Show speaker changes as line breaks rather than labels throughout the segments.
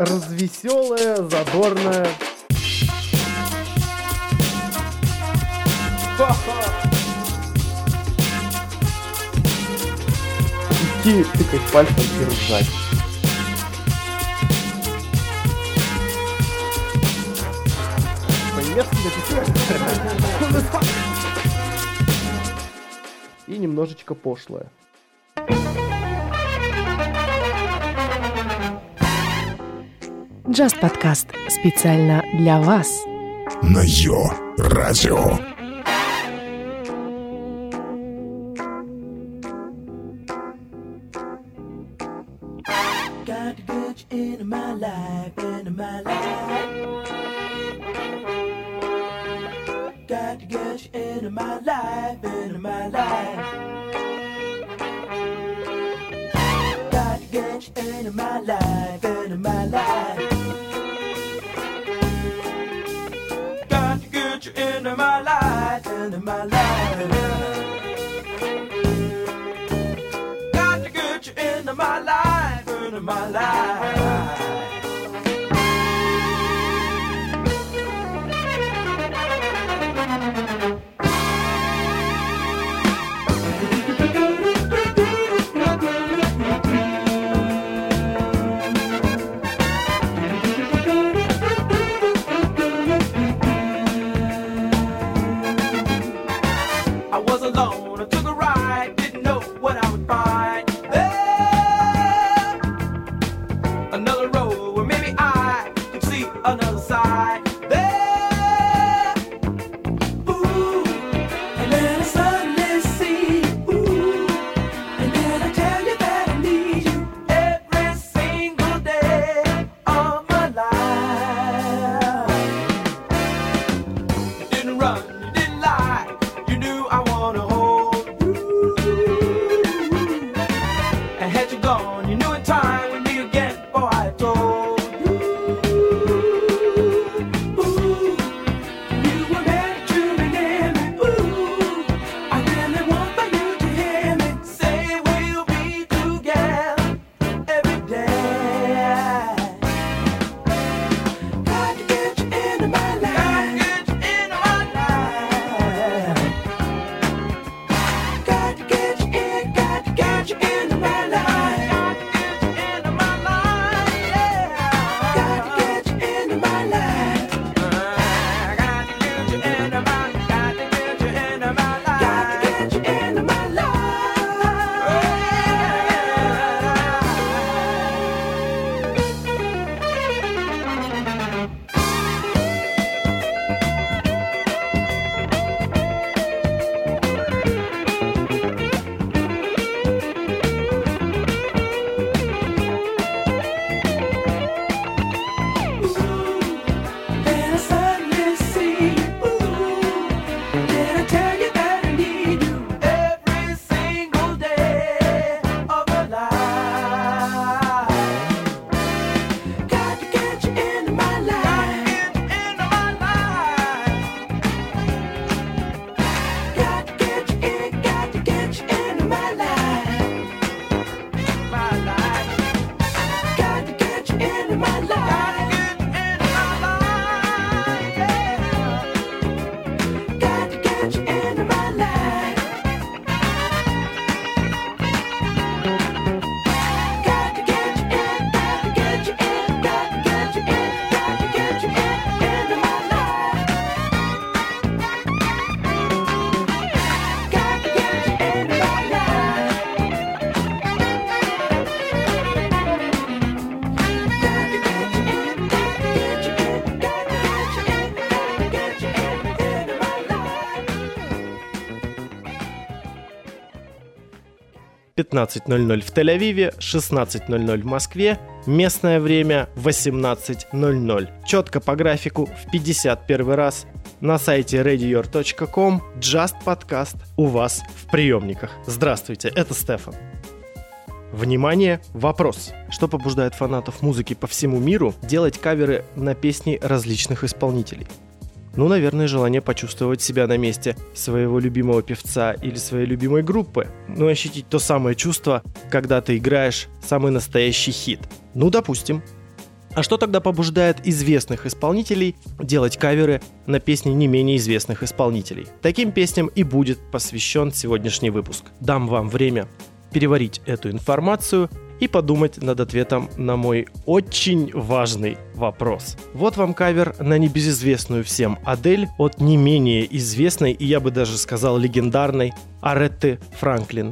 развеселая, задорная. Идти, тыкать пальцем и ржать. И немножечко пошлое.
Just подкаст специально для вас.
На Йо-Радио.
Got to get you into my life, into my life. Got to get you into my life, into my life. Got to get you into my life, into my life. Got to get you into my life, into my life. Got to get you into my life, into my life. I was alone, I took a ride, didn't know what I would find. There, another road where maybe I could see another side. There, ooh, and then I suddenly see, ooh, and then I tell you that I need you every single day of my life. You didn't run, you didn't lie, you knew I wanna hold you. And had you gone, you knew in time we'd meet again. Oh, I told you. Ooh, you were meant to be near me. Ooh, I really want for you to hear me say we'll be together every day. Got to get you into my life. Got to get you into my life. Got to get you in, got to get you into my life. Got to get you into my life, yeah. Got to get you into my life. Got to get you into my, got to get you into my life. Got to get you into my life. Then I suddenly see, ooh, did I tell you that I need you every single day of my life? Got to get you into my life. Got to get you in, got to get you into my life. My life. Got to get you into my life. Got to get you into my life. Got to get you in, got to get you in, got to get you in, got to get you into my life. Got to get you into my life. Got to get you in, got to get you in, got to get you in, got to get you into my life.
15:00 в Тель-Авиве, 16:00 в Москве, местное время 18:00. Четко по графику в 51 раз на сайте readyyour.com. Just подкаст у вас в приемниках. Здравствуйте, это Стефан. Внимание, вопрос. Что побуждает фанатов музыки по всему миру делать каверы на песни различных исполнителей? Ну, наверное, желание почувствовать себя на месте своего любимого певца или своей любимой группы. Ну, ощутить то самое чувство, когда ты играешь самый настоящий хит. Ну, допустим. А что тогда побуждает известных исполнителей делать каверы на песни не менее известных исполнителей? Таким песням и будет посвящен сегодняшний выпуск. Дам вам время переварить эту информацию и подумать над ответом на мой очень важный вопрос. Вот вам кавер на небезызвестную всем Адель от не менее известной и, я бы даже сказал, легендарной Аретты Франклин.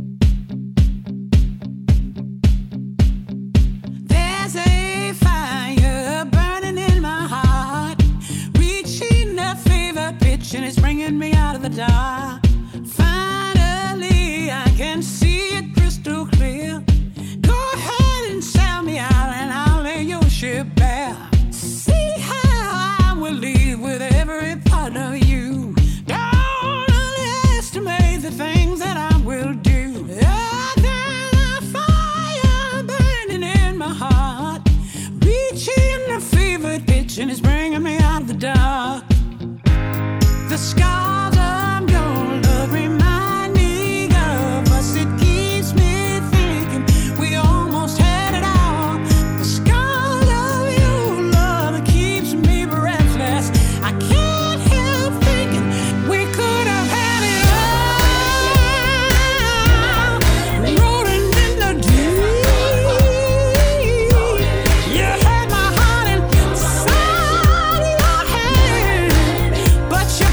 And it's bringing me out of the dark. Finally, I can see it crystal clear. Go ahead and sell me out, and I'll lay your ship bare. See how I will leave with every part of you. Don't underestimate the things that I will do. There's a fire burning in my heart, reaching a fever pitch, and it's bringing me out of the dark. The scars of your love remind me of us. It keeps me thinking we almost had it all. The scars of your love keeps me breathless. I can't help thinking we could have had it all. Rolling in the deep. You had my heart inside your hand, but you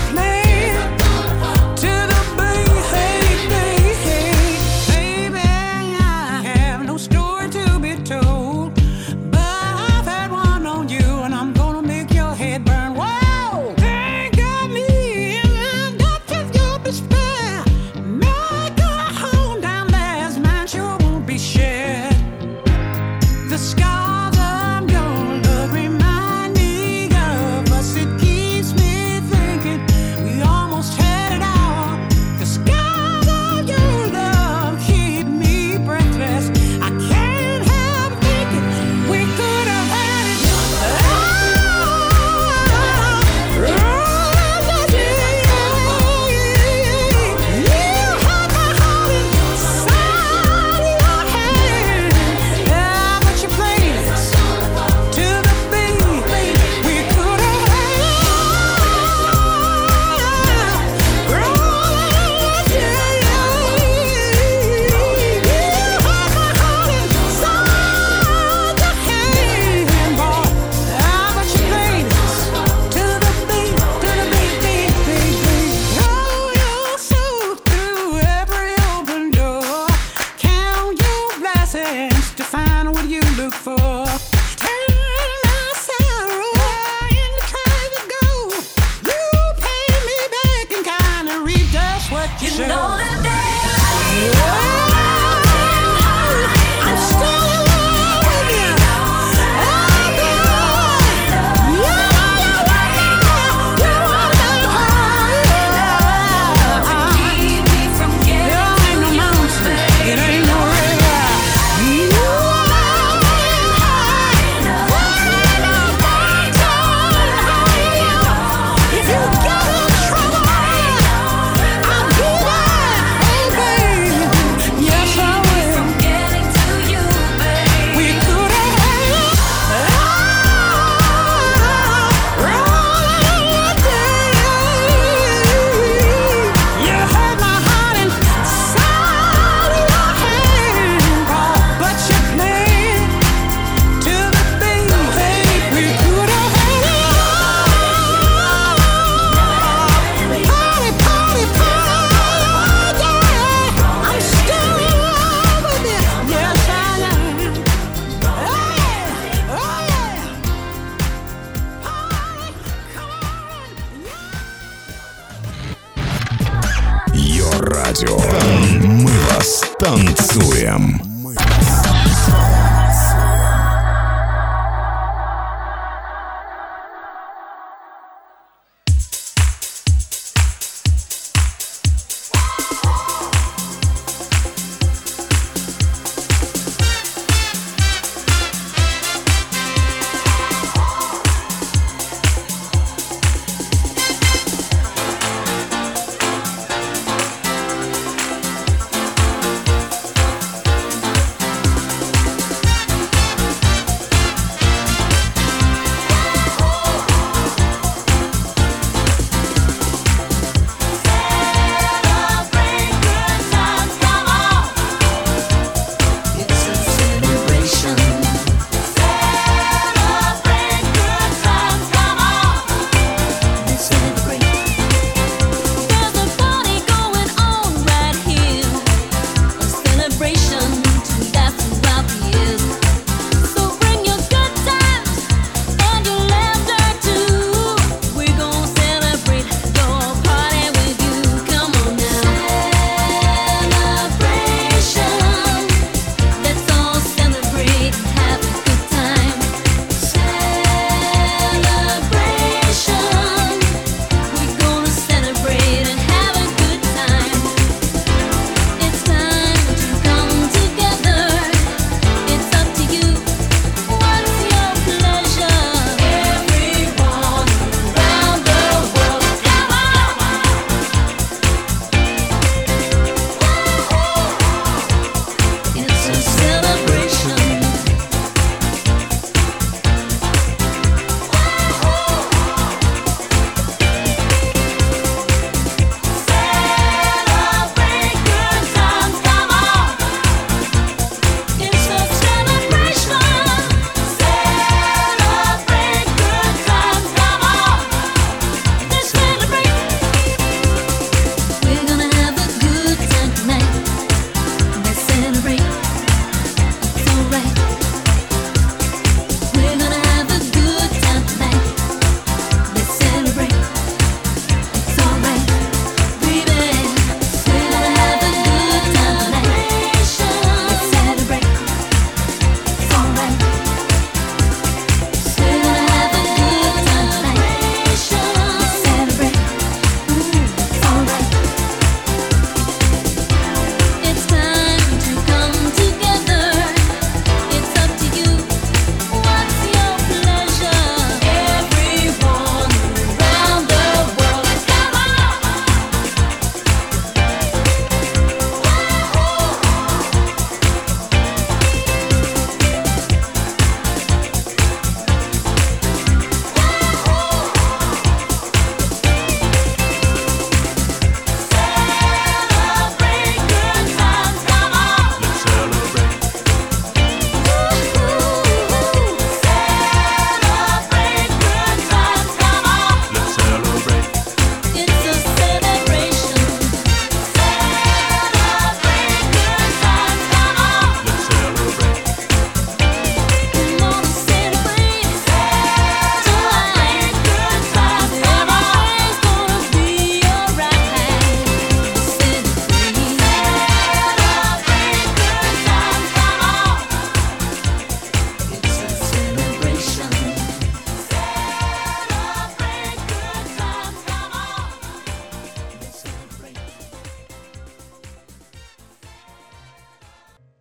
Радио. Мы вас танцуем.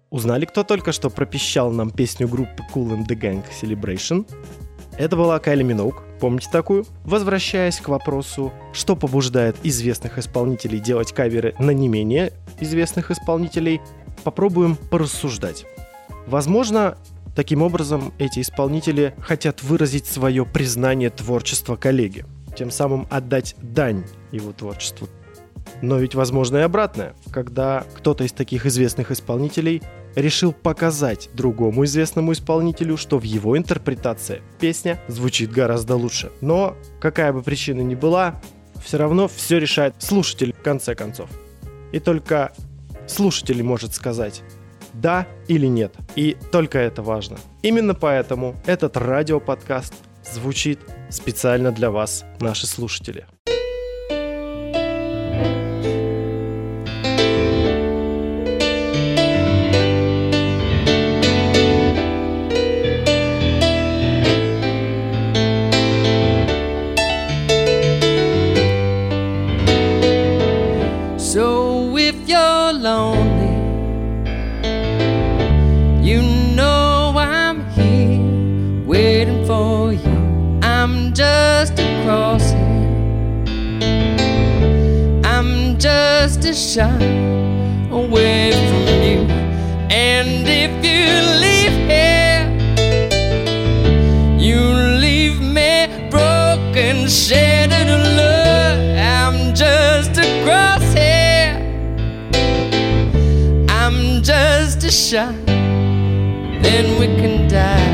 Узнали, кто только что пропищал нам песню группы Kool and the Gang Celebration? Это была Кайли Миноуг, помните такую? Возвращаясь к вопросу, что побуждает известных исполнителей делать каверы на не менее известных исполнителей, попробуем порассуждать. Возможно, таким образом эти исполнители хотят выразить свое признание творчества коллеги, тем самым отдать дань его творчеству. Но ведь возможно и обратное, когда кто-то из таких известных исполнителей решил показать другому известному исполнителю, что в его интерпретации песня звучит гораздо лучше. Но, какая бы причина ни была, все равно все решает слушатель в конце концов. И только слушатель может сказать «да» или «нет». И только это важно. Именно поэтому этот радиоподкаст звучит специально для вас, наши слушатели.
So if you're lonely, you know I'm here waiting for you. I'm just a crossing, I'm just a shot away from you. And if you leave here, you leave me broken, shattered alone. I'm just a crosshair, I'm just a shot, then we can die.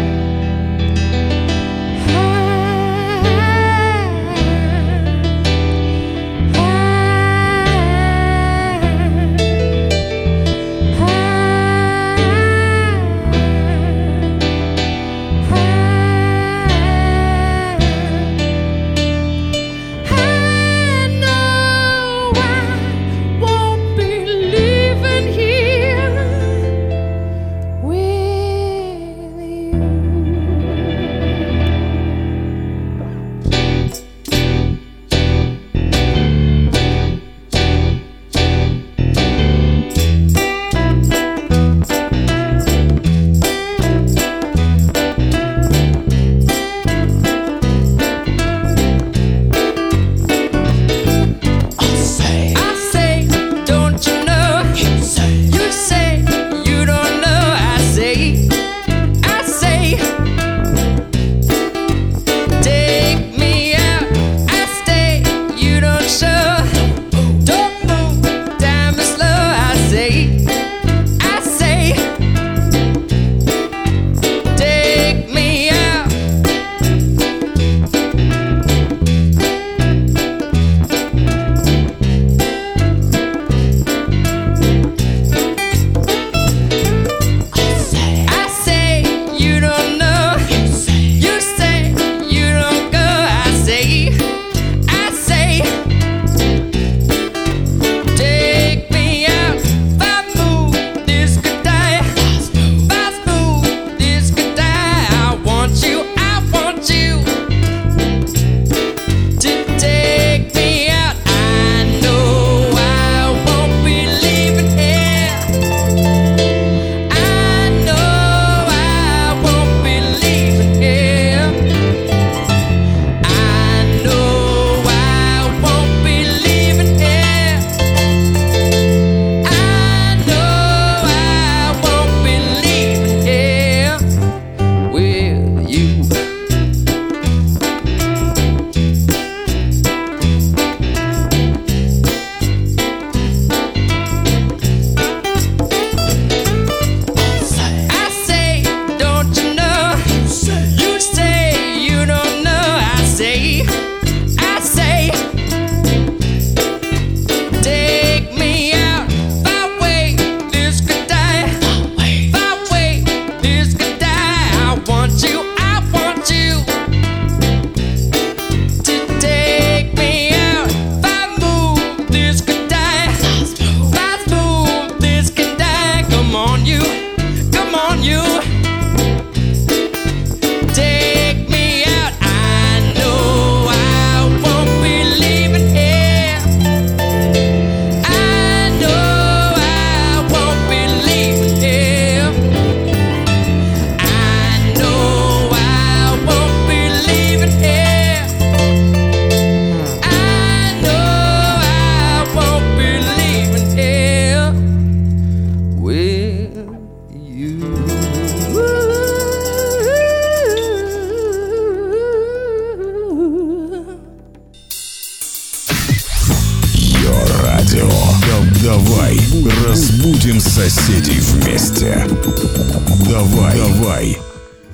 Разбудим соседей вместе. Давай.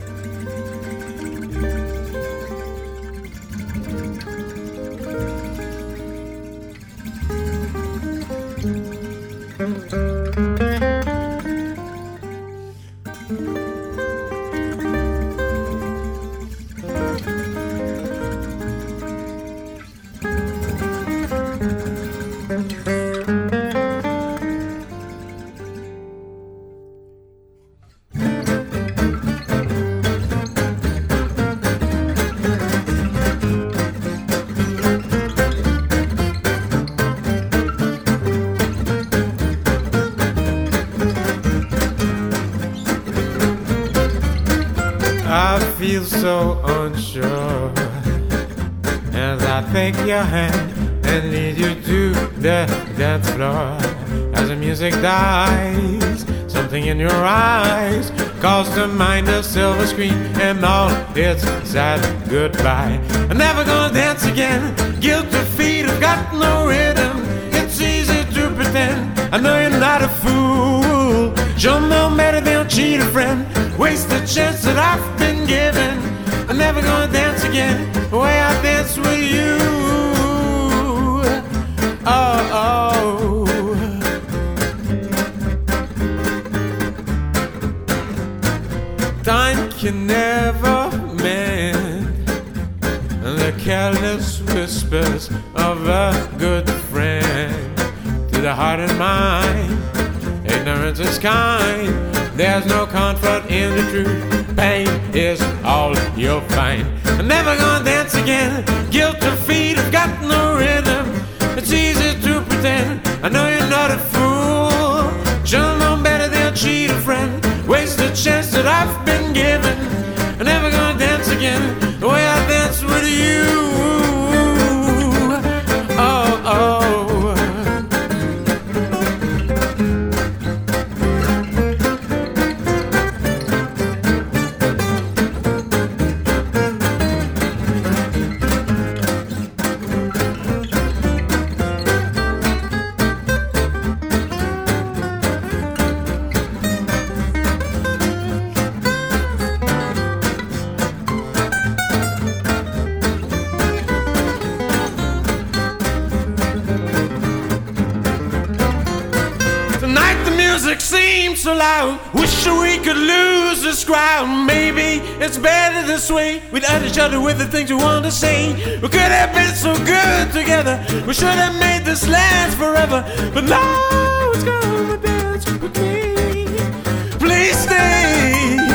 I feel so unsure as I take your hand and lead you to the dance floor. As the music dies, something in your eyes calls to mind a silver screen and all its sad goodbye. I'm never gonna dance again. Guilty feet have got no rhythm. It's easy to pretend. I know you're not a fool. You'll know better than cheat a friend. Waste the chance that I've been given. I'm never gonna dance again the way I dance with you. Oh. Time can never mend the careless whispers of a good friend. To the heart and mind, ignorance is kind. There's no comfort in the truth. Pain is all you'll find. I'm never gonna dance again. Guilty feet have got no rhythm. It's easy to pretend. I know you're not a fool. You'll know better than cheat a friend. Waste the chance that I've been given. I'm never gonna dance again the way I dance with you. Oh. So loud, wish we could lose this crowd. Maybe it's better this way, without each other with the things we want to say. We could have been so good together. We should have made this last forever. But now it's gonna dance with me. Please stay.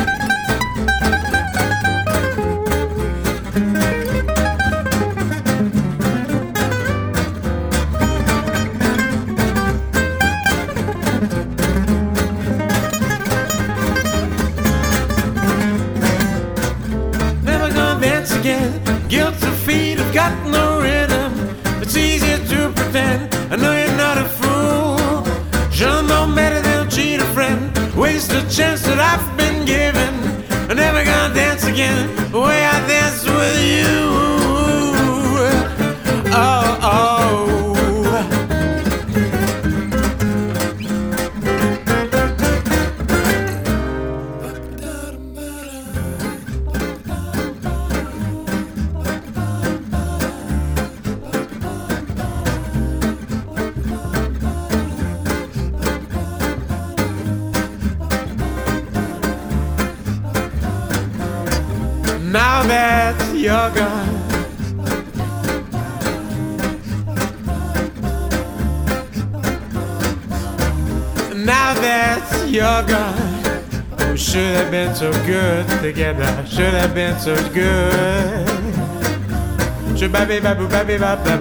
Guilty feet have got no rhythm. It's easy to pretend. I know you're not a fool. You'll know better than cheat a friend. Waste the chance that I've been given. I'm never gonna dance again the way I dance with you. Oh. Now that you're gone, now that you're gone, we should have been so good together. Should have been so good. Should baby baby baby baby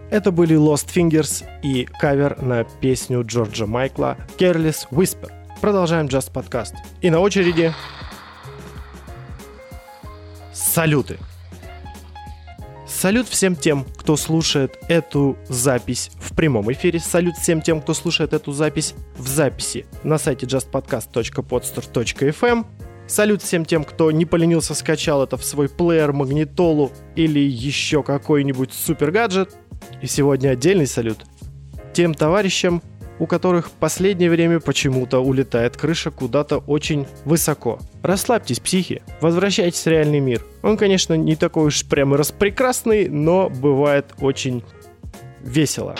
Это были Lost Fingers и кавер на песню Джорджа Майкла Careless Whisper. Продолжаем Just Podcast. И на очереди салюты. Салют всем тем, кто слушает эту запись в прямом эфире. Салют всем тем, кто слушает эту запись в записи на сайте justpodcast.podster.fm. Салют всем тем, кто не поленился, скачал это в свой плеер, магнитолу или еще какой-нибудь супер гаджет. И сегодня отдельный салют тем товарищам, у которых в последнее время почему-то улетает крыша куда-то очень высоко. Расслабьтесь, психи, возвращайтесь в реальный мир. Он, конечно, не такой уж прямо распрекрасный, но бывает очень весело.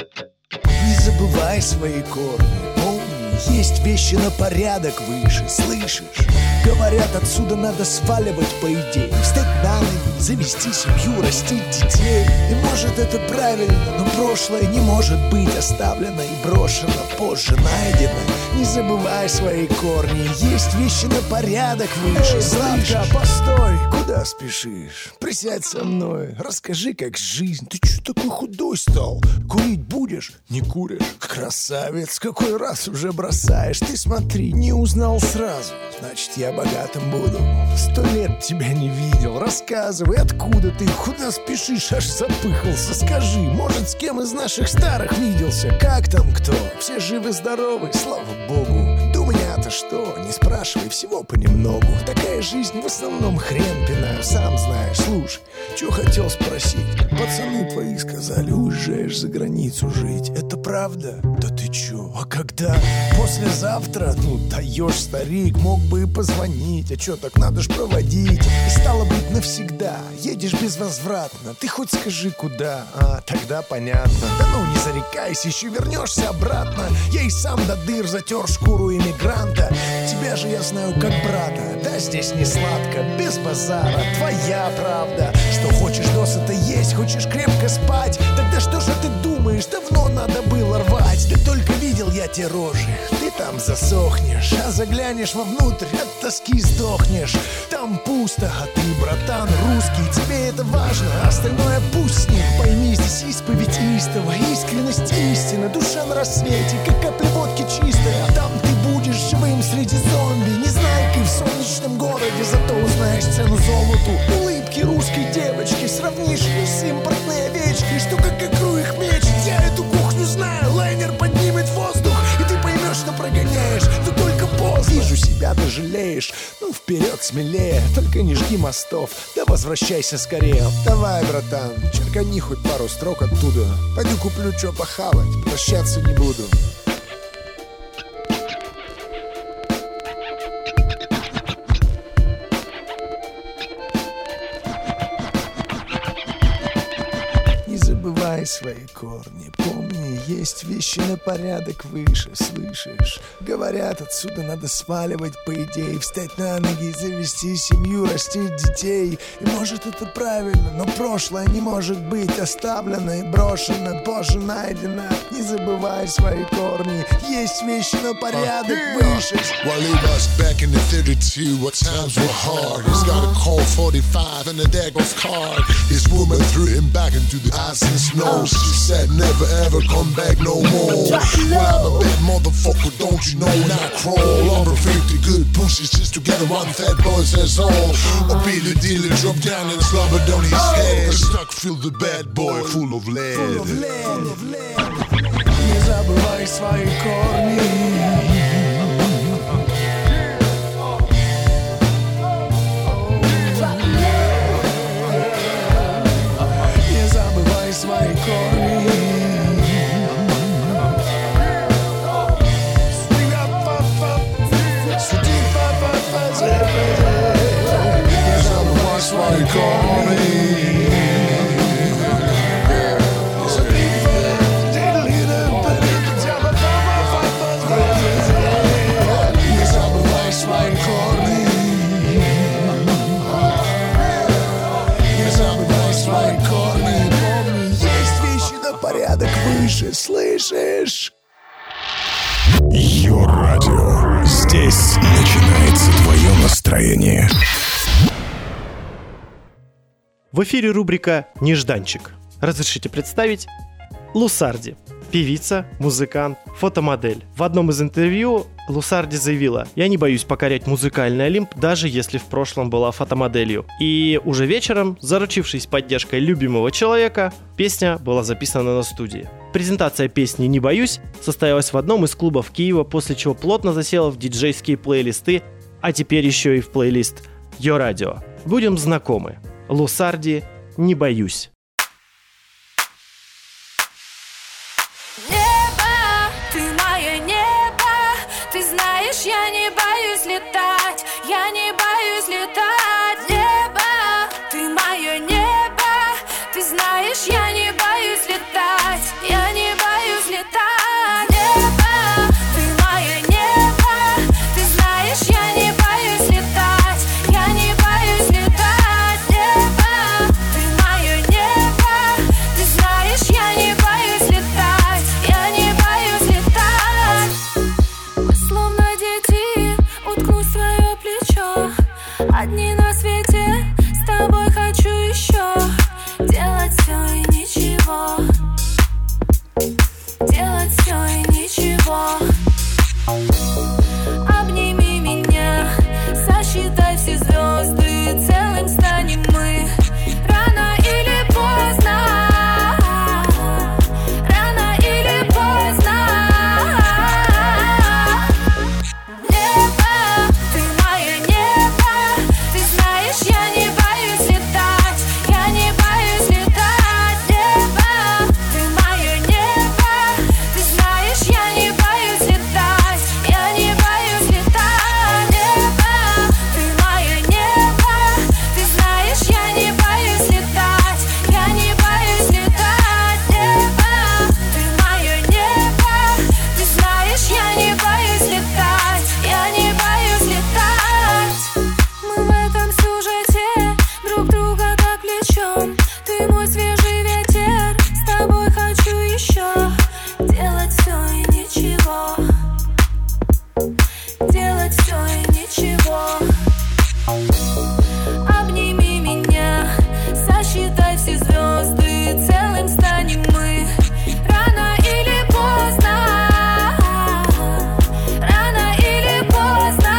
Не забывай свои корни, помни, есть вещи на порядок выше, слышишь? Говорят, отсюда надо сваливать, по идее, встать на ноги, завести семью, растить детей. И может это правильно, но прошлое не может быть оставлено и брошено, позже найдено. Не забывай свои корни, есть вещи на порядок выше. Сладко, постой, куда спешишь? Присядь со мной, расскажи, как жизнь. Ты чё такой худой стал? Курить будешь? Не куришь? Красавец, какой раз уже бросаешь? Ты смотри, не узнал сразу, значит я богатым буду. 100 лет тебя не видел, рассказывай, откуда ты, куда спешишь, аж запыхался. Скажи, может, с кем из наших старых виделся? Как там кто? Все живы-здоровы, слава богу. Да у меня-то что? Не спрашивай, всего понемногу. Такая жизнь в основном хрен пинаю, сам знаешь. Слушай, что хотел спросить? Пацаны твои сказали, уезжаешь за границу жить. Это правда? Да ты чё? А когда? Послезавтра? Ну, даешь, старик, мог бы и позвонить. А чё, так надо ж проводить. И стало быть навсегда, едешь безвозвратно. Ты хоть скажи, куда? А, тогда понятно. Да ну, не зарекайся, еще вернешься обратно. Я и сам до дыр затер шкуру иммигранта. Тебя же я знаю как брата. Да, здесь не сладко, без базара, твоя правда. Что хочешь досыта есть, хочешь крепко спать. Тогда что же ты думаешь, давно надо было рвать. Да только видел я те рожи, ты там засохнешь. А заглянешь вовнутрь, от тоски сдохнешь. Там пусто, а ты, братан, русский. Тебе это важно, остальное пусть с ним. Пойми, здесь исповедь истова, искренность истина. Душа на рассвете, как капля водки чистая. А там ты будешь живым среди зомби, незнайкой в солнечном городе. Зато узнаешь цену золоту, улыбки русской девочки. Сравнишь ее с импортной овечкой, что как икру их мечет. Я эту кухню знаю, лайнер поднимет воздух, и ты поймешь, что прогоняешь, но только поздно. Вижу себя, ты жалеешь, ну вперед смелее. Только не жги мостов, да возвращайся скорее. Давай, братан, черкани хоть пару строк оттуда. Пойду куплю что похавать, прощаться не буду. Свои корни, помни, есть вещи на порядок выше, слышишь? Говорят, отсюда надо сваливать, по идее, встать на ноги, завести семью, растить детей. И может это правильно, но прошлое не может быть оставлено и брошено, позже найдено. Не забывай свои корни, есть вещи на порядок выше.
While he was back in the 32, what times were hard. He's got a cold 45 and a Dagos card. His woman threw him back into the ice and snow. She said never ever come back no more. Well, I'm a bad motherfucker, don't you know? Now I crawl over 50 good pussies just to get one fat boy, that's all. A Billy dealer drop down and slobbered on his head. Stuck feel the bad boy full of lead.
Не забывай свои корни. Свои корни. Не забывай свои корни. Не забывай свои корни. Не забывай свои корни. Порядок выше, слышишь?
Йо-радио. Здесь начинается твое настроение.
В эфире рубрика «Нежданчик». Разрешите представить Лусарди. Певица, музыкант, фотомодель. В одном из интервью Лусарди заявила: «Я не боюсь покорять музыкальный Олимп, даже если в прошлом была фотомоделью». И уже вечером, заручившись поддержкой любимого человека, песня была записана на студии. Презентация песни «Не боюсь» состоялась в одном из клубов Киева, после чего плотно засела в диджейские плейлисты, а теперь еще и в плейлист Йо Радио. Будем знакомы. Лусарди «Не боюсь».
Я не боюсь летать, я не боюсь летать. Небо, ты мое небо, ты знаешь, я не боюсь летать, я не боюсь летать. Небо, ты мое небо, ты знаешь, я не боюсь летать, я не боюсь летать. Небо, ты мое небо, ты знаешь, я не боюсь летать, я не боюсь летать. Мы словно уткнусь в твое плечо, одни на свете, с тобой хочу еще делать все и ничего, делать все и ничего. Обними меня, сосчитай все звезды, целым станем мы. Рано или поздно, рано или поздно. Я не боюсь летать, я не боюсь летать. Небо, ты мое небо, ты знаешь, я не боюсь летать, я не боюсь летать. Небо, ты мое небо, ты знаешь, я не боюсь летать, я не боюсь летать. Небо, ты мое небо, ты знаешь, я не боюсь летать, я не боюсь летать. Мы в этом сюжете друг друга так влечем. Ты мой свежий ветер, с тобой хочу еще делать все и ничего, делать все и ничего. Обними меня, сосчитай все звезды, целым станем мы. Рано или поздно, рано или поздно.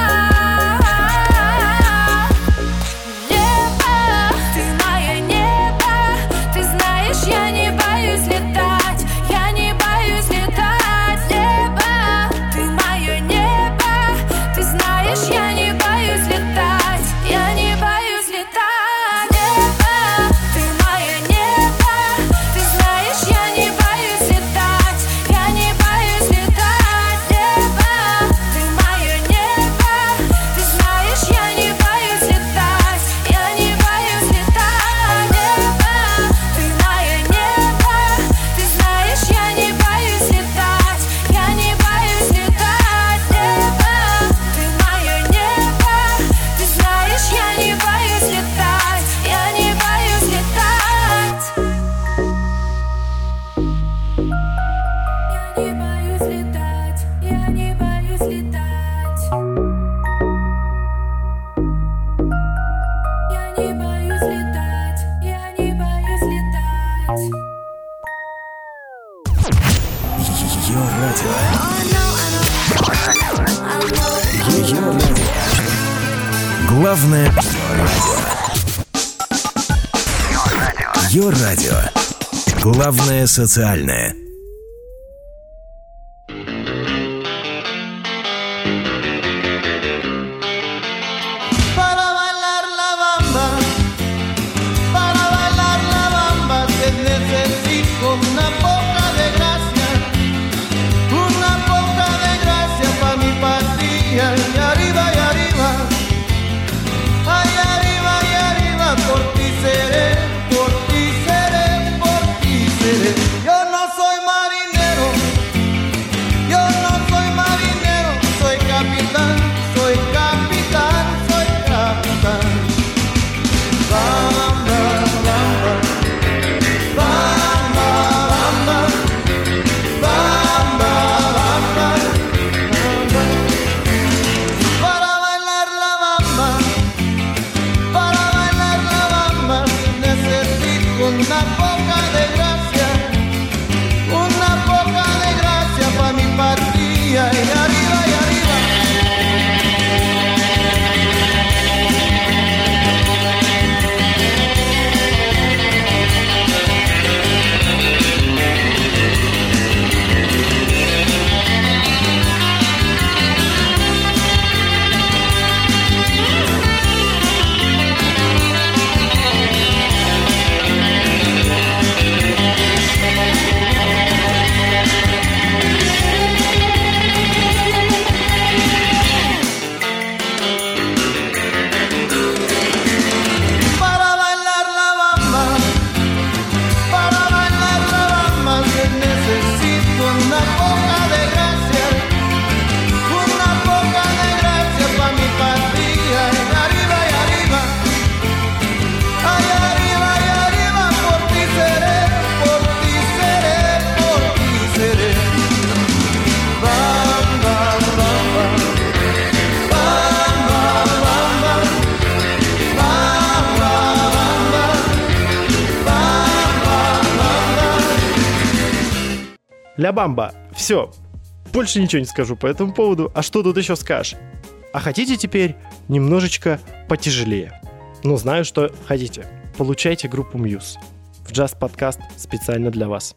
Я не боюсь летать, я не боюсь летать. Небо, ты мое небо, ты знаешь, я не боюсь летать, я не боюсь летать. Небо, ты мое небо, ты знаешь, я не боюсь летать, я не боюсь летать. Небо, ты мое небо, ты знаешь, я не боюсь летать, я не боюсь летать. Небо, ты мое небо, ты знаешь, я не боюсь летать, я не боюсь летать. Небо, ты мое небо, ты знаешь, я не боюсь летать, я не боюсь летать. Я не боюсь летать, я не боюсь летать. Я не боюсь летать, я не боюсь летать.
Йо Радио. Йо Радио. Главное Йо Радио. Главное социальное.
Para bailar la bamba, te necesito una poca de gracia pa' mi patria. Y arriba, ay arriba, por ti seré, por ti seré, por ti seré. Yo no soy
Ля Бамба. Все. Больше ничего не скажу по этому поводу. А что тут еще скажешь? А хотите теперь немножечко потяжелее? Ну, знаю, что хотите. Получайте группу Muse в джаз-подкаст специально для вас.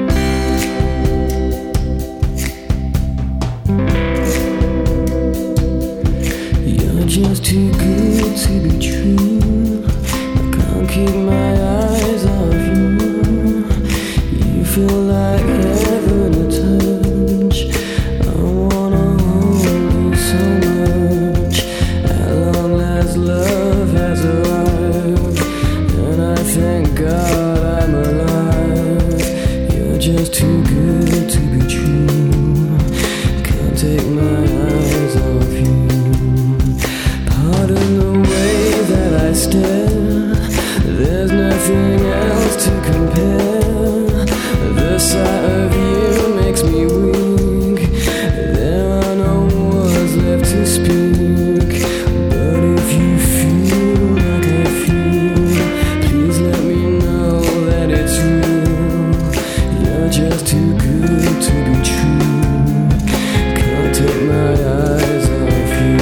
You're just too good to be true. I can't keep my eyes off you. You feel like heaven to touch. I wanna hold you so much. At long last, love has arrived, and I thank God I'm alive. You're just too good to be true. Can't take my eyes off you. Pardon the way that I stare. There's nothing else to compare. The sight of you makes me weak. There are no words left to speak. But if you feel like I feel, please let me know that it's real. You're just too good to be true. Can't take my eyes off you.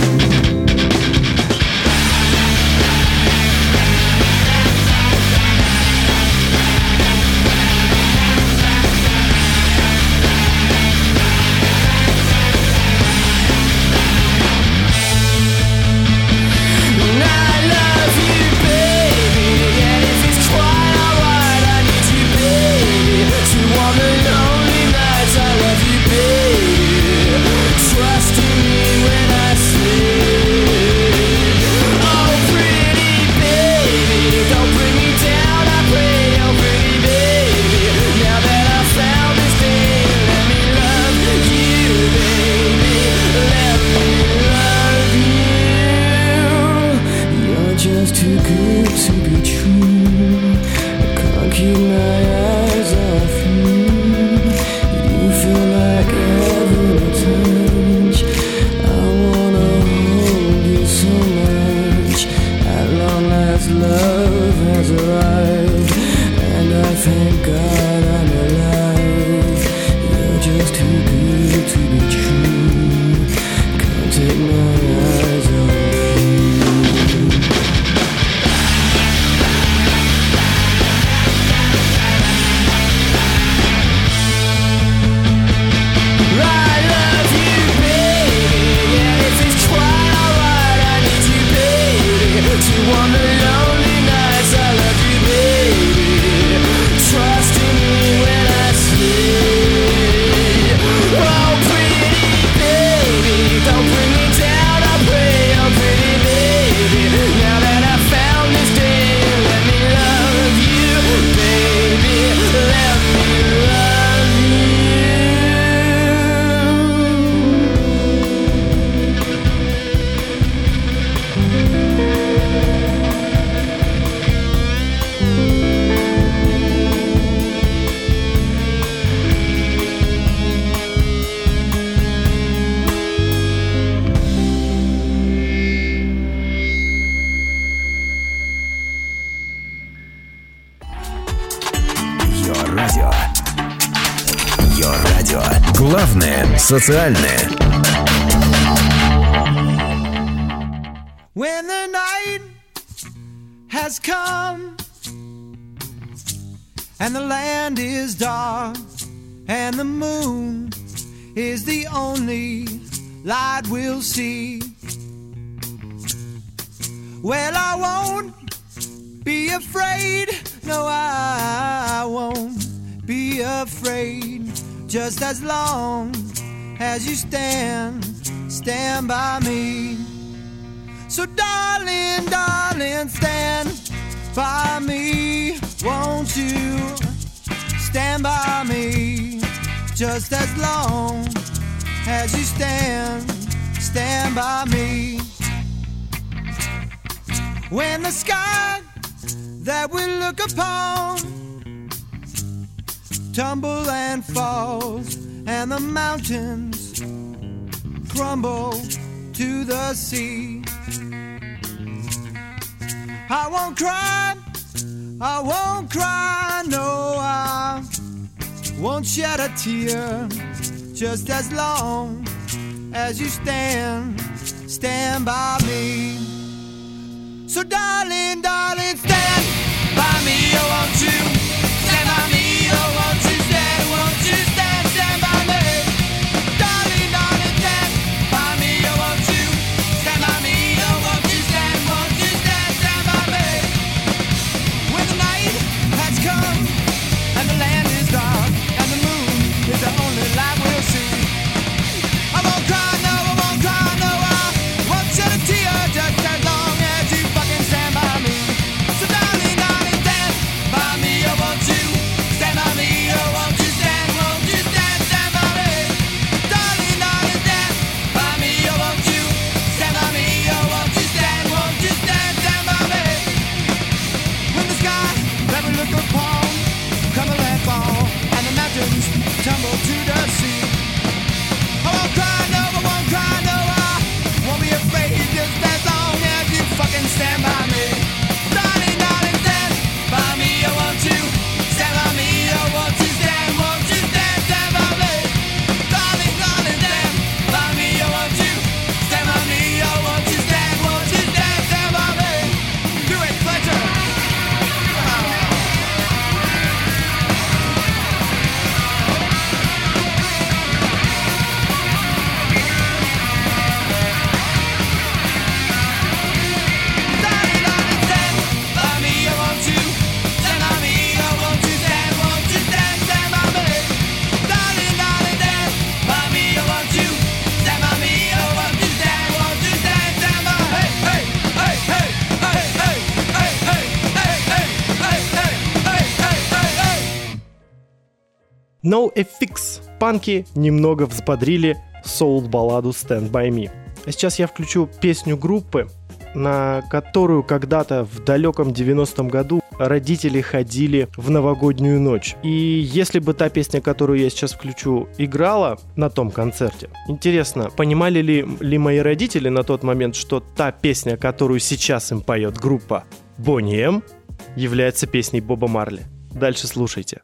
Just too good to be true. I can't keep my eyes off you. You feel like heaven to touch. I wanna hold you so much. At long last, love has arrived, and I thank God I'm alive. You're just too good to be true. Can't take my eyes off you.
Главное социальное.
When the night has come and the land is dark and the moon is the only light we'll see, well, I won't be afraid. No, I won't be afraid. Just as long as you stand by me. So darling, darling, stand by me. Won't you stand by me? Just as long as you stand by me. When the sky that we look upon tumble and falls, and the mountains crumble to the sea, I won't cry, no, I won't shed a tear just as long as you stand by me. So darling, darling, stand by me, oh won't you? Stand by me, oh won't you stand by me? Darling, darling, stand by me, oh won't you? Stand by me, oh won't you stand by me? When the night has come and the land is dark and the moon is the only light we'll see, I won't cry, no, I won't cry, no, I won't shed a tear just as long as you fucking stand by me. So darling, darling, stand by me, oh won't you? Stand by me, oh won't you stand by me? Darling, darling, stand by me, oh won't you? Stand by me, oh won't you stand by me? When the sky that we look upon come and fall and the mountains tumble to the sea, I won't cry, no, I won't cry, no, I won't be afraid just as long as you fucking stand by me. Darling, darling, stand by me, oh won't you? Stand by me, oh won't you stand by me? Darling, darling, stand by me, oh won't you? Stand by me, oh won't you stand by me? Do it, Fletcher.
NoFX. Панки немного взбодрили соул-балладу Stand By Me. А сейчас я включу песню группы, на которую когда-то в далеком 90-м году родители ходили в новогоднюю ночь. И если бы та песня, которую я сейчас включу, играла на том концерте, интересно, понимали ли мои родители на тот момент, что та песня, которую сейчас им поет группа Boney M, является песней Боба Марли? Дальше слушайте.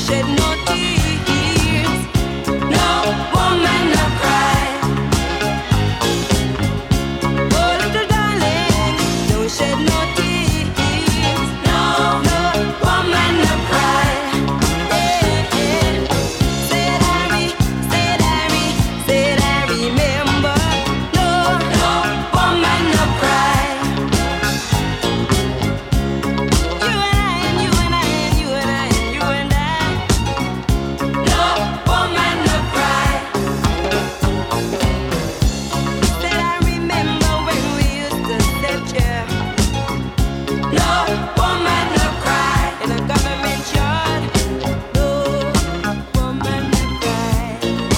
shed no tears. No woman no cry. Oh, little darling, don't shed no tears. No woman no cry. Said I remember. No woman no cry. You and I and you and I and you and I and you and I. No woman no cry. Said I remember when we used to sit here. No woman no cry in a government yard. No woman no cry.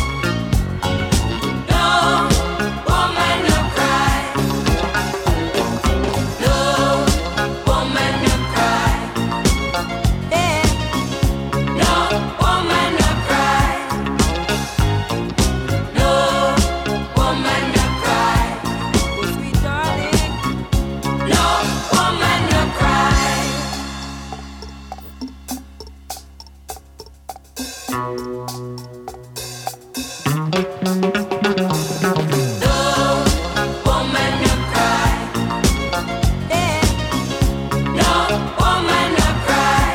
No woman no cry. No woman no cry. Yeah. No woman no cry. No woman no cry. Oh, sweet darling. No woman no cry. No woman no cry. Yeah. No woman no cry.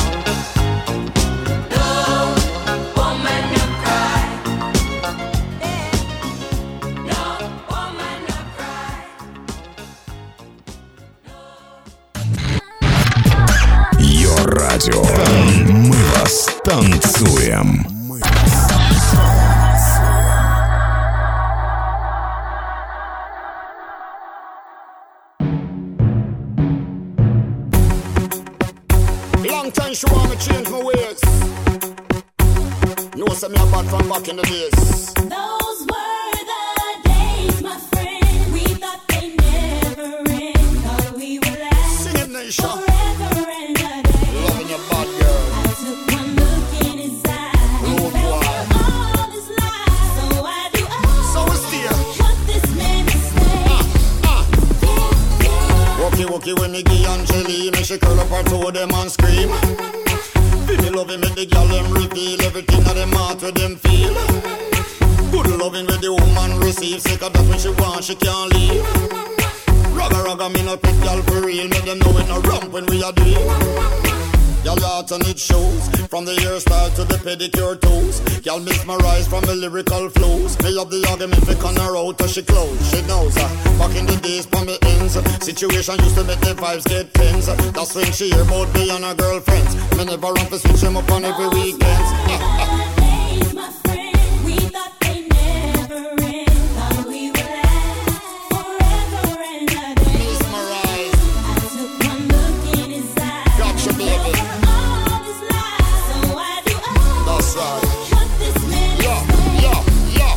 No woman no cry. Yeah. No woman no cry.
Йо радио. Мы вас танцуем.
Long time she want me change my ways. Know some me a bad from back in the days.
Those were the days, my friend. We thought they never end. Thought we would last
Sing it, Nisha.
forever and a day.
Loving your bad girl.
I took one look in his eyes and
Oh,
felt
boy.
all his lies. So I do
So it's there.
what this man is saying.
Wookie when me give Angeli, me she curl up her toe them and scream. Feel me loving me the girl them reveal everything that them heart with them feel. Good loving with the woman receive, sick of that when she want she can't leave. Ragga me no pick girl for real, make them know it no ramp when we are doing. Y'all heart and it shows, from the hairstyle to the pedicure toes. Y'all mesmerize from the lyrical flows. Me have the argument for con her out till she close. She knows back in the days for me ends, situation used to make the vibes get tense. That's when she hear about me and her girlfriends. Me never run for switch them up on every weekend.
Days, my friend. We thought they never end. Thought we would last forever and a day.
Mesmerize,
I took one look in his eyes.
gotcha baby.
All his lies. So I do
That's right.
what this man is
Yeah.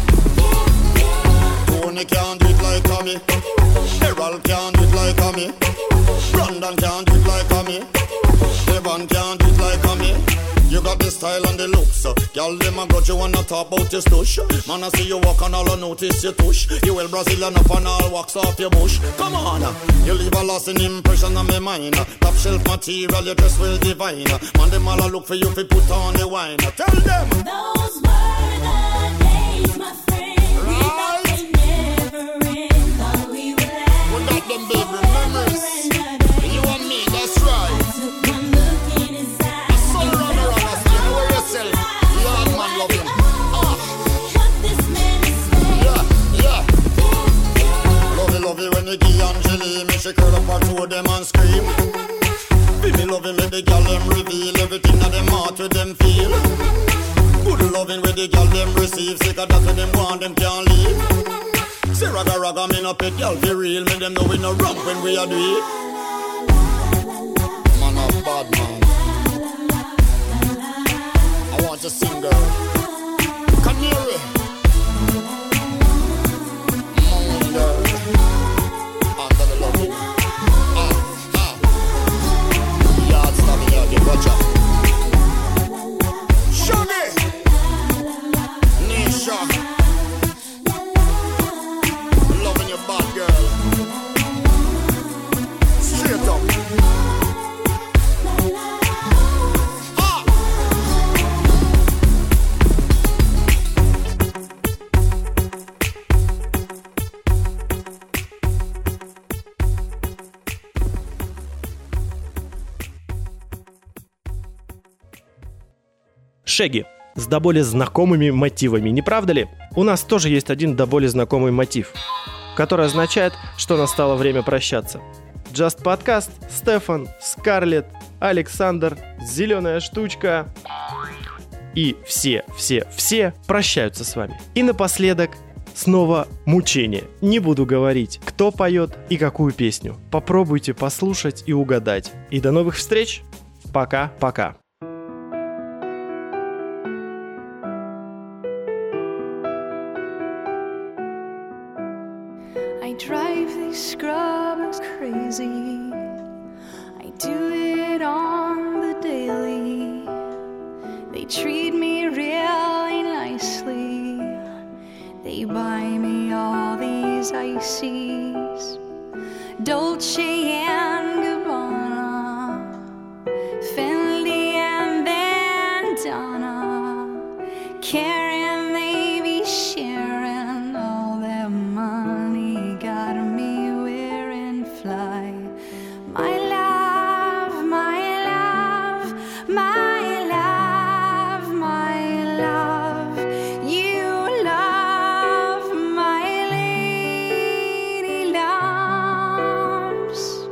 Tony can't do it like me. Gerald can't do it like me. Brandon can't do it like me. Evan can't do it like me. You got the style and the looks, so y'all them a grudge you wanna talk about your stush. Man I see you walk and all I notice your tush. You well Brazilian up and all wax off your bush. Come on, you leave a lasting impression on my mind. Top shelf material, your dress well divine. Man them all a look for you fi put on the wine. Tell them.
Those were the days, my friend. We thought they never end. Thought we would last
We got them baby memories.
forever and a day.
You and me, that's right.
Took one look in his eyes.
So run around, you know yourself. Lord man love him.
What this man is saying.
Yeah. Love it when you give Angeli, me she curl up her two of them and scream. Feel me loving with the girl them reveal everything that them heart with them feel. Good loving with the girl them receive, sick of that when them want them can't leave. Say ragga me no pet girl for real, make them know we no ramp when we are do it. Man a bad man. I want to sing girl. Canary. Moon girl. Under the loving. Yard stop here, get watch out. Shaggy. Nisha. Loving your bad girl. Straight up.
Шеги с до боли знакомыми мотивами, не правда ли? У нас тоже есть один до боли знакомый мотив, который означает, что настало время прощаться. Just Podcast, Стефан, Скарлетт, Александр, Зеленая штучка и все прощаются с вами. И напоследок снова мучение. Не буду говорить, кто поет и какую песню. Попробуйте послушать и угадать. И до новых встреч. Пока-пока.
I drive these scrubbers crazy. I do it on the daily. They treat me really nicely. They buy me all these ices, Dolce and Gabbana, Fendi and Bandana. Karen, they be sharing all their money, got me wearing fly. My love, my love, my love, my love, you love my lady loves.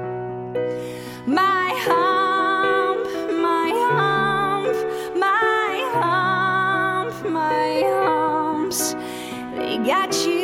My hump, my hump, my hump, my humps, they got you.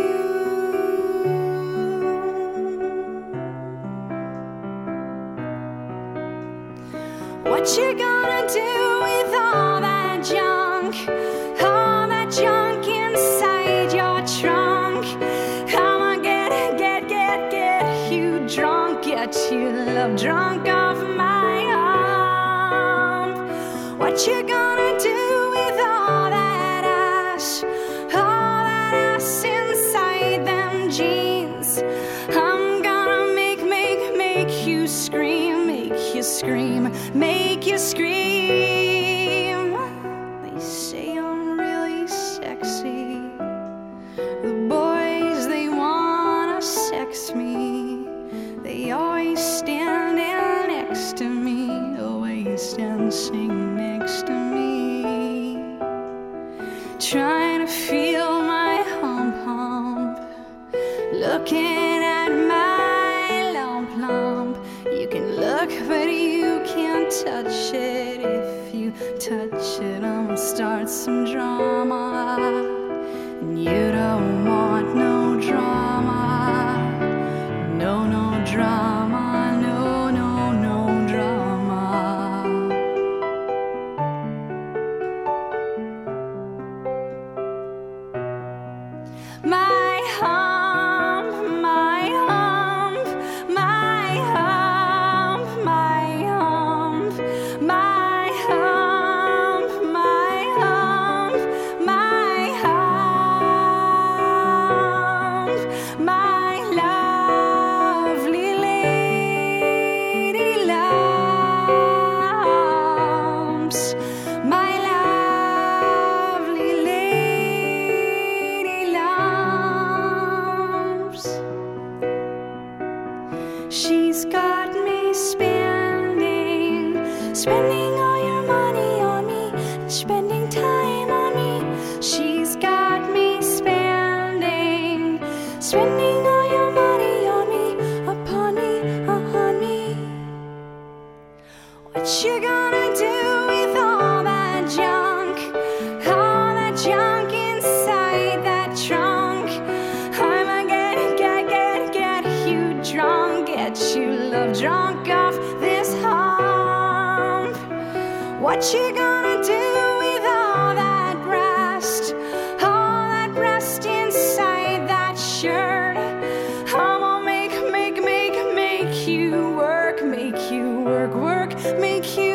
What you gonna do with all that junk? All that junk inside your trunk? I'ma get you drunk, get you love drunk off my hump. What you gonna do with all that ass? All that ass inside them jeans? I'm gonna make you scream, make you scream, make you scream. They say I'm really sexy. The boys, they wanna sex me. They always stand next to me, always dancing next to me, trying to feel my hump, looking at my lump. You can look, but you can't touch it. If you touch it, I'ma start some drama. And you don't want no drama. No drama, no drama. My hump, my hump, my hump, my hump, my hump, my hump, my hump, my lovely lady loves, my lovely lady loves. She's got me spending all your money on me, spending time on me. She's got me spending all your money on me, upon me, on me. What you gonna do with all that junk? All that junk inside that trunk? I'ma get you drunk, get you love drunk off this hump. What you gonna do with all that breast? All that breast inside that shirt? I'ma make you work, make you